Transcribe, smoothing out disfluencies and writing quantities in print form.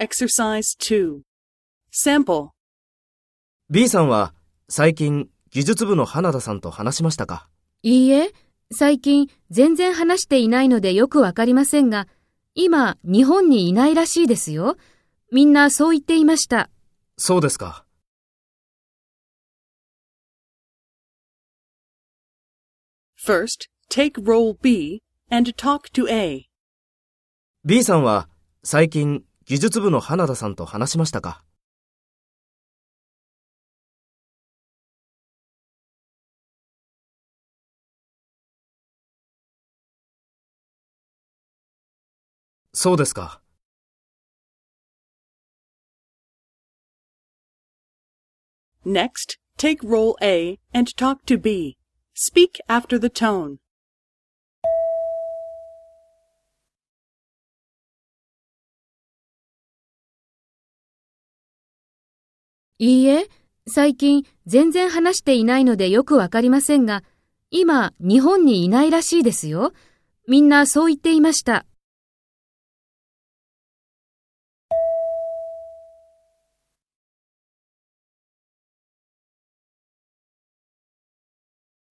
Exercise 2. Sample. B さんは最近技術部の花田さんと話しましたか？ いいえ、最近全然話していないのでよくわかりませんが、今日本にいないらしいですよ。みんなそう言っていました。 そうですか。 First, take role B and talk to A. B さんは最近技術部の花田さんと話しましたか？そうですか。 Next, take role A and talk to B. Speak after the tone. いいえ、最近全然話していないのでよくわかりませんが、今日本にいないらしいですよ。みんなそう言っていました。